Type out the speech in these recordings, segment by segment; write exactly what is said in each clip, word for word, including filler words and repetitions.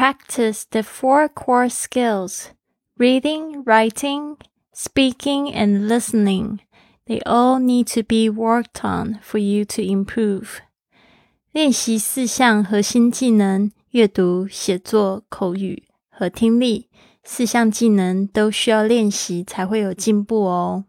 practice the four core skills, reading, writing, speaking, and listening. They all need to be worked on for you to improve. 练习四项核心技能，阅读、写作、口语和听力。四项技能都需要练习才会有进步哦。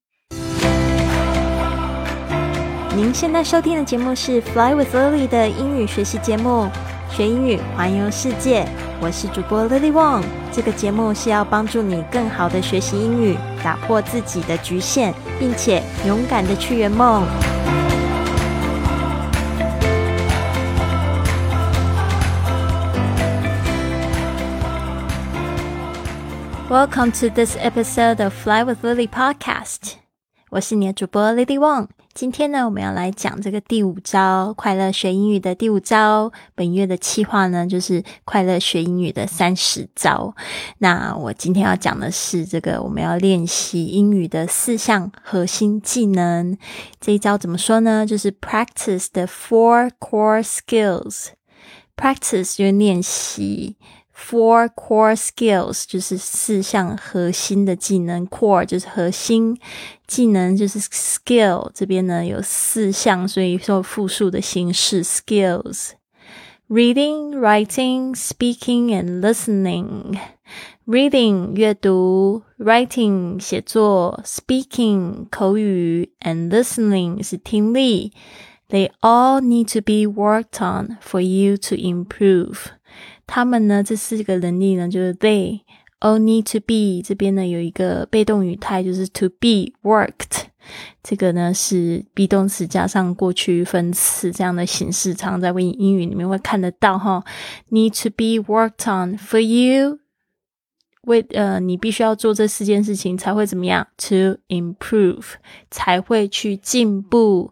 您现在收听的节目是 Fly with Lily 的英语学习节目，学英语环游世界。我是主播 Lily Wong， 这个节目是要帮助你更好的学习英语，打破自己的局限，并且勇敢的去圆梦。Welcome to this episode of Fly with Lily Podcast。 我是你的主播 Lily Wong。今天呢，我们要来讲这个第五招，快乐学英语的第五招。本月的企划呢，就是快乐学英语的三十招。那我今天要讲的是这个我们要练习英语的四项核心技能。这一招怎么说呢？就是 practice the four core skills。practice 就是练习。Four core skills 就是四项核心的技能， core 就是核心，技能就是 skill， 这边呢有四项，所以说复数的形式 skills。 Reading, writing, speaking and listening。 Reading 阅读， writing 写作， speaking 口语 and listening 是听力。 They all need to be worked on for you to improve。他们呢，这四个能力呢，就是 they all need to be， 这边呢有一个被动语态，就是 to be worked， 这个呢是 be 动词加上过去分词这样的形式，常常在英语里面会看得到齁。need to be worked on for you， 为呃你必须要做这四件事情才会怎么样 to improve， 才会去进步。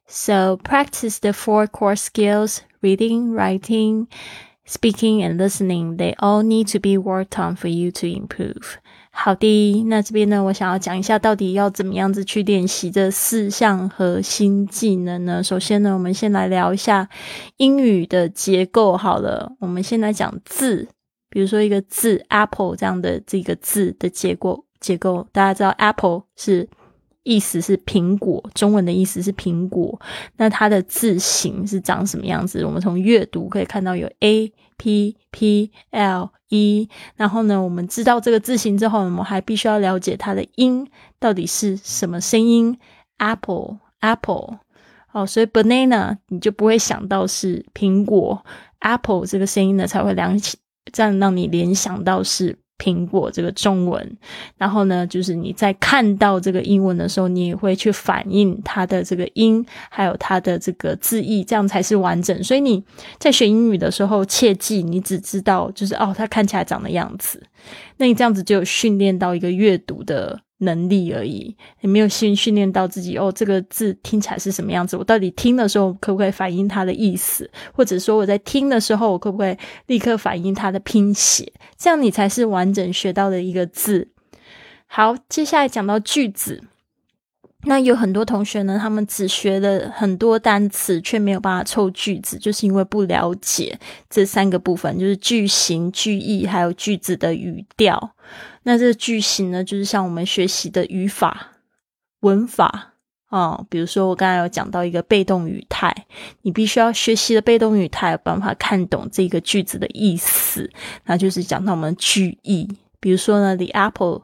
So practice the four core skills, reading, writing,Speaking and listening, they all need to be worked on for you to improve. 好的，那这边呢，我想要讲一下到底要怎么样子去练习这四项核心技能呢？首先呢，我们先来聊一下英语的结构好了。我们先来讲字，比如说一个字 apple 这样的这个字的结构结构，大家知道 apple 是意思是苹果，中文的意思是苹果，那它的字形是长什么样子？我们从阅读可以看到有 A P P L E， 然后呢我们知道这个字形之后，我们还必须要了解它的音到底是什么声音。 Apple Apple 哦，所以 banana 你就不会想到是苹果， Apple 这个声音呢才会联这样让你联想到是苹果这个中文。然后呢就是你在看到这个英文的时候，你也会去反映它的这个音还有它的这个字义，这样才是完整。所以你在学英语的时候切记你只知道就是哦它看起来长的样子，那你这样子就有训练到一个阅读的能力而已，你没有训训练到自己哦这个字听起来是什么样子，我到底听的时候可不可以反映它的意思，或者说我在听的时候我可不可以立刻反映它的拼写，这样你才是完整学到的一个字。好，接下来讲到句子。那有很多同学呢，他们只学了很多单词却没有办法凑句子，就是因为不了解这三个部分，就是句型、句意还有句子的语调。那这个句型呢，就是像我们学习的语法、文法哦，比如说我刚才有讲到一个被动语态，你必须要学习的被动语态有办法看懂这个句子的意思，那就是讲到我们句意。比如说呢 The apple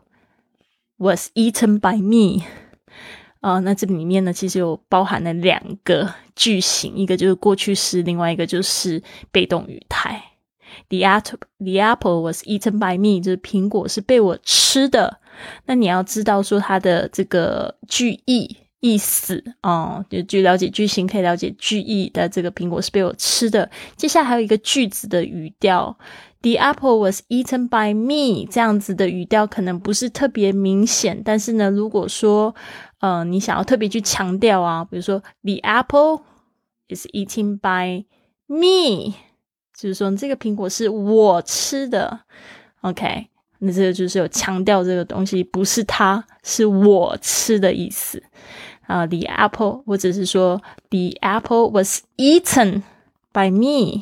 was eaten by me，呃，那这里面呢其实有包含了两个句型，一个就是过去式，另外一个就是被动语态。The apple, the apple was eaten by me， 就是苹果是被我吃的。那你要知道说它的这个句意意思哦，就去了解句型可以了解句意的，这个苹果是被我吃的。接下来还有一个句子的语调， The apple was eaten by me， 这样子的语调可能不是特别明显，但是呢如果说呃，你想要特别去强调啊，比如说 The apple is eaten by me， 就是说这个苹果是我吃的 OK， 那这个就是有强调这个东西不是它是我吃的意思啊、uh, The apple 或者是说 The apple was eaten by me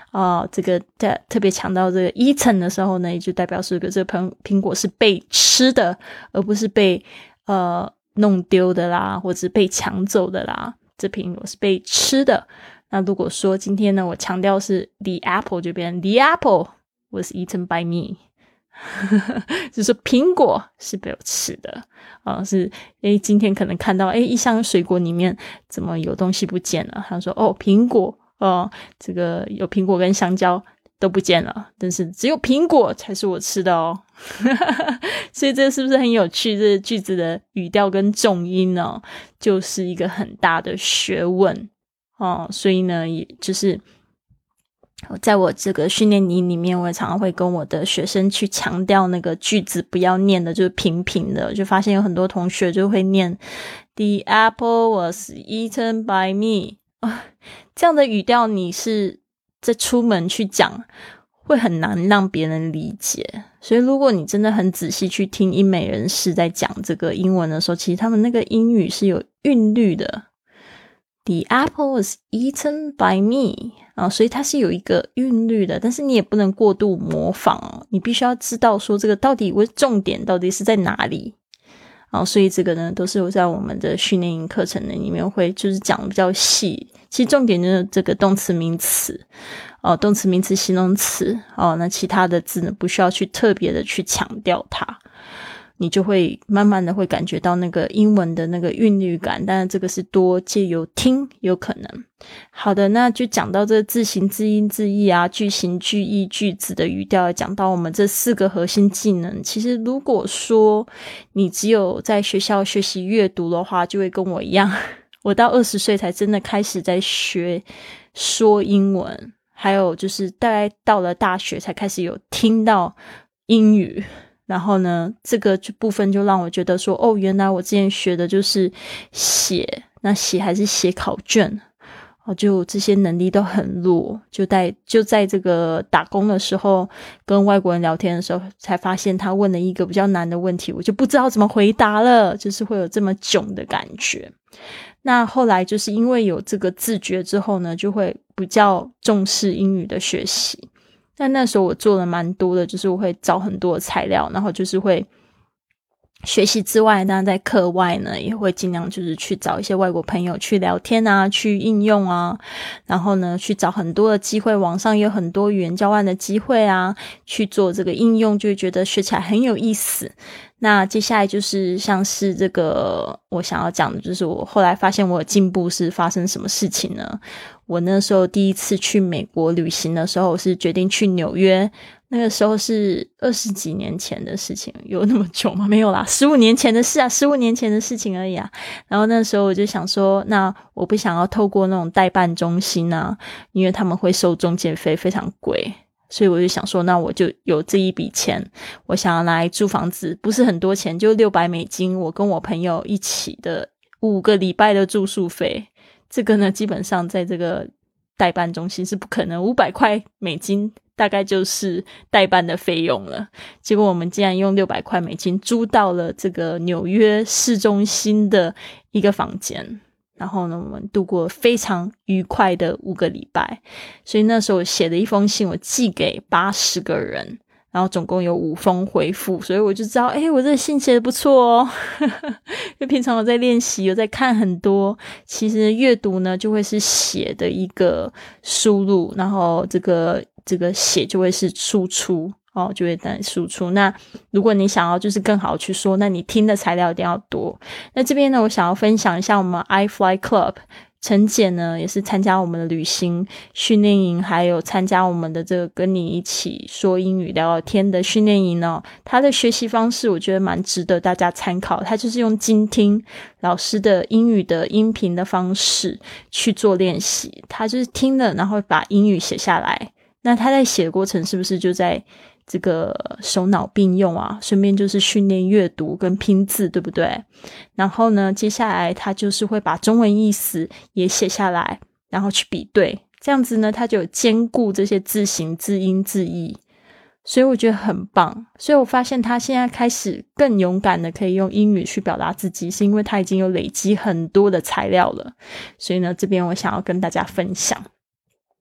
哦、呃，这个在特别强调这个 eaten 的时候呢，也就代表是这个苹苹果是被吃的，而不是被呃弄丢的啦，或者是被抢走的啦。这苹果是被吃的。那如果说今天呢，我强调是 the apple， 就变成 the apple was eaten by me 就是说苹果是被我吃的啊、呃，是诶今天可能看到诶一箱水果里面怎么有东西不见了，他说哦苹果哦、呃，这个有苹果跟香蕉都不见了，但是只有苹果才是我吃的哦所以这是不是很有趣？这个句子的语调跟重音呢，就是一个很大的学问哦。所以呢，也就是在我这个训练营里面，我也常常会跟我的学生去强调那个句子不要念的就是平平的，就发现有很多同学就会念 The apple was eaten by me 啊，这样的语调你是在出门去讲会很难让别人理解。所以如果你真的很仔细去听英美人士在讲这个英文的时候，其实他们那个英语是有韵律的。The apple was eaten by me 啊，所以它是有一个韵律的，但是你也不能过度模仿哦，你必须要知道说这个到底重点到底是在哪里啊，所以这个呢都是我在我们的训练营课程的里面会就是讲的比较细。其实重点就是这个动词名词哦，动词名词形容词哦，那其他的字呢不需要去特别的去强调它，你就会慢慢的会感觉到那个英文的那个韵律感，但是这个是多借由听有可能。好的，那就讲到这个字形字音字义啊，句型句意句子的语调，讲到我们这四个核心技能。其实如果说你只有在学校学习阅读的话，就会跟我一样，我到二十岁才真的开始在学说英文，还有就是大概到了大学才开始有听到英语，然后呢这个部分就让我觉得说哦，原来我之前学的就是写，那写还是写考卷哦，就这些能力都很弱，就在就在这个打工的时候跟外国人聊天的时候才发现他问了一个比较难的问题，我就不知道怎么回答了，就是会有这么囧的感觉。那后来就是因为有这个自觉之后呢，就会比较重视英语的学习。但那时候我做了蛮多的，就是我会找很多的材料，然后就是会学习之外，当然在课外呢也会尽量就是去找一些外国朋友去聊天啊，去应用啊，然后呢去找很多的机会，网上也有很多语言交换的机会啊，去做这个应用，就会觉得学起来很有意思。那接下来就是像是这个我想要讲的，就是我后来发现我有进步是发生什么事情呢？我那时候第一次去美国旅行的时候，我是决定去纽约，那个时候是二十几年前的事情，有那么久吗？没有啦，十五年前的事啊，十五年前的事情而已啊。然后那时候我就想说，那我不想要透过那种代办中心啊，因为他们会收中介费非常贵，所以我就想说，那我就有这一笔钱，我想要来租房子，不是很多钱，就六百美金，我跟我朋友一起的五个礼拜的住宿费。这个呢基本上在这个代办中心是不可能，五百块美金大概就是代办的费用了。结果我们竟然用六百块美金租到了这个纽约市中心的一个房间，然后呢我们度过非常愉快的五个礼拜。所以那时候我写了一封信，我寄给八十个人，然后总共有五封回复，所以我就知道诶我这个信写得不错哦因为平常我在练习，有在看很多，其实阅读呢就会是写的一个输入，然后这个这个写就会是输出哦，就会等输出。那如果你想要就是更好去说，那你听的材料一定要多。那这边呢我想要分享一下我们 iFly Club，陈姐呢也是参加我们的旅行训练营，还有参加我们的这个跟你一起说英语聊聊天的训练营哦。她的学习方式我觉得蛮值得大家参考，她就是用精听老师的英语的音频的方式去做练习，她就是听了然后把英语写下来，那她在写的过程是不是就在这个手脑并用啊，顺便就是训练阅读跟拼字，对不对？然后呢接下来他就是会把中文意思也写下来，然后去比对，这样子呢他就有兼顾这些字形字音字义，所以我觉得很棒。所以我发现他现在开始更勇敢的可以用英语去表达自己，是因为他已经有累积很多的材料了。所以呢这边我想要跟大家分享。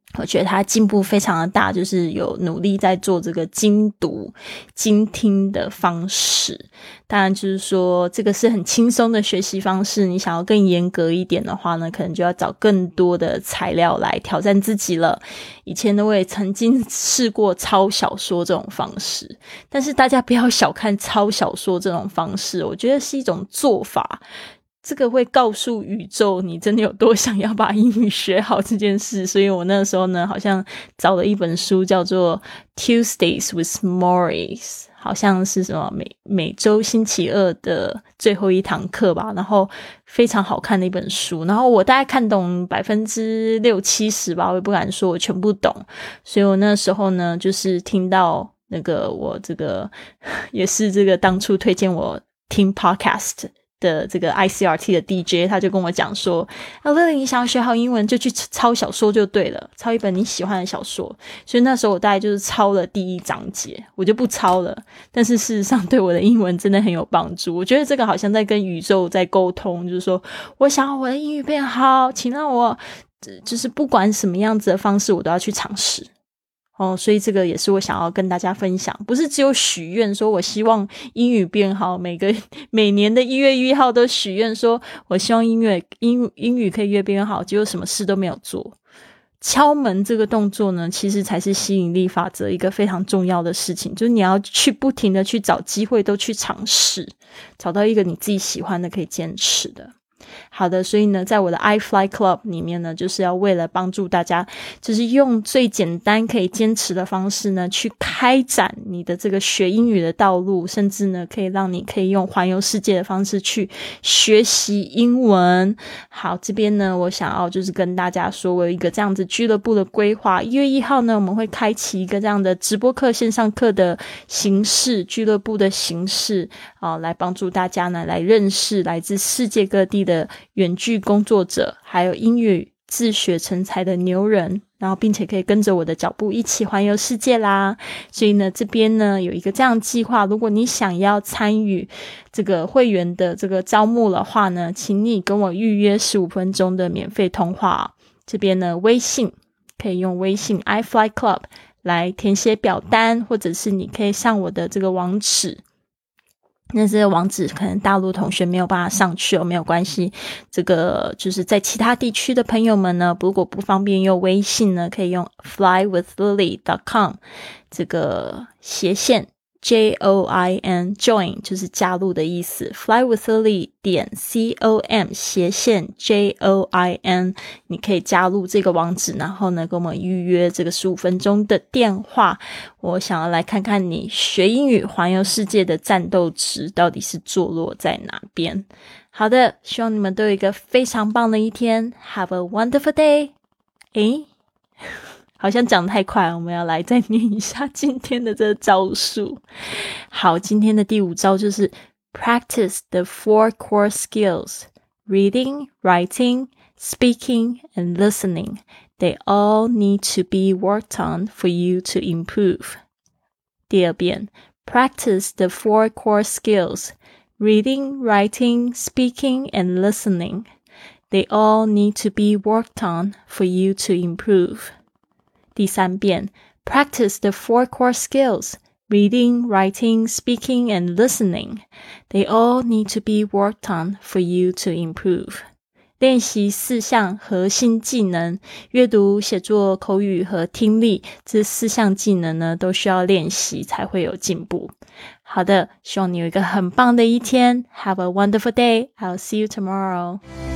我觉得他进步非常的大，就是有努力在做这个精读精听的方式。当然就是说这个是很轻松的学习方式，你想要更严格一点的话呢，可能就要找更多的材料来挑战自己了。以前呢我也曾经试过抄小说这种方式，但是大家不要小看抄小说这种方式，我觉得是一种做法，这个会告诉宇宙你真的有多想要把英语学好这件事。所以我那时候呢好像找了一本书叫做 Tuesdays with Morris， 好像是什么每每周星期二的最后一堂课吧，然后非常好看的一本书，然后我大概看懂百分之六七十吧，我也不敢说我全部懂。所以我那时候呢就是听到那个我这个也是这个当初推荐我听 podcast的这个 I C R T 的 D J， 他就跟我讲说啊 Lily 你想要学好英文就去抄小说就对了，抄一本你喜欢的小说。所以那时候我大概就是抄了第一章节，我就不抄了，但是事实上对我的英文真的很有帮助。我觉得这个好像在跟宇宙在沟通，就是说我想要我的英语变好，请让我就是不管什么样子的方式我都要去尝试哦，所以这个也是我想要跟大家分享，不是只有许愿说我希望英语变好，每个每年的一月一号都许愿说我希望音乐英英语可以越变越好，结果什么事都没有做。敲门这个动作呢，其实才是吸引力法则一个非常重要的事情，就是你要去不停的去找机会，都去尝试，找到一个你自己喜欢的可以坚持的。好的，所以呢在我的 iFly Club 里面呢，就是要为了帮助大家就是用最简单可以坚持的方式呢去开展你的这个学英语的道路，甚至呢可以让你可以用环游世界的方式去学习英文。好，这边呢我想要就是跟大家说我有一个这样子俱乐部的规划，一月一号呢我们会开启一个这样的直播课线上课的形式，俱乐部的形式啊、呃，来帮助大家呢来认识来自世界各地的远距工作者，还有英语自学成才的牛人，然后并且可以跟着我的脚步一起环游世界啦。所以呢这边呢有一个这样的计划，如果你想要参与这个会员的这个招募的话呢，请你跟我预约十五分钟的免费通话。这边呢微信可以用微信 iFly Club 来填写表单，或者是你可以上我的这个网址，那这个网址可能大陆同学没有办法上去哦，没有关系，这个就是在其他地区的朋友们呢，如果不方便用微信呢，可以用 fly with lily dot com 这个斜线 J O I N join 就是加入的意思， fly with lily 点 C O M 斜线 J O I N 你可以加入这个网址，然后呢跟我们预约这个十五分钟的电话。我想要来看看你学英语环游世界的战斗值到底是坐落在哪边。好的，希望你们都有一个非常棒的一天， Have a wonderful day。 诶好像讲得太快，我们要来再念一下今天的这个招数。好，今天的第五招就是 Practice the four core skills Reading, writing, speaking, and listening. They all need to be worked on for you to improve. 第二遍 Practice the four core skills Reading, writing, speaking, and listening. They all need to be worked on for you to improve. 第三遍 Practice the four core skills Reading, writing, speaking, and listening. They all need to be worked on for you to improve. 练习四项核心技能，阅读、写作、口语和听力，这四项技能呢都需要练习才会有进步。好的，希望你有一个很棒的一天。Have a wonderful day. I'll see you tomorrow.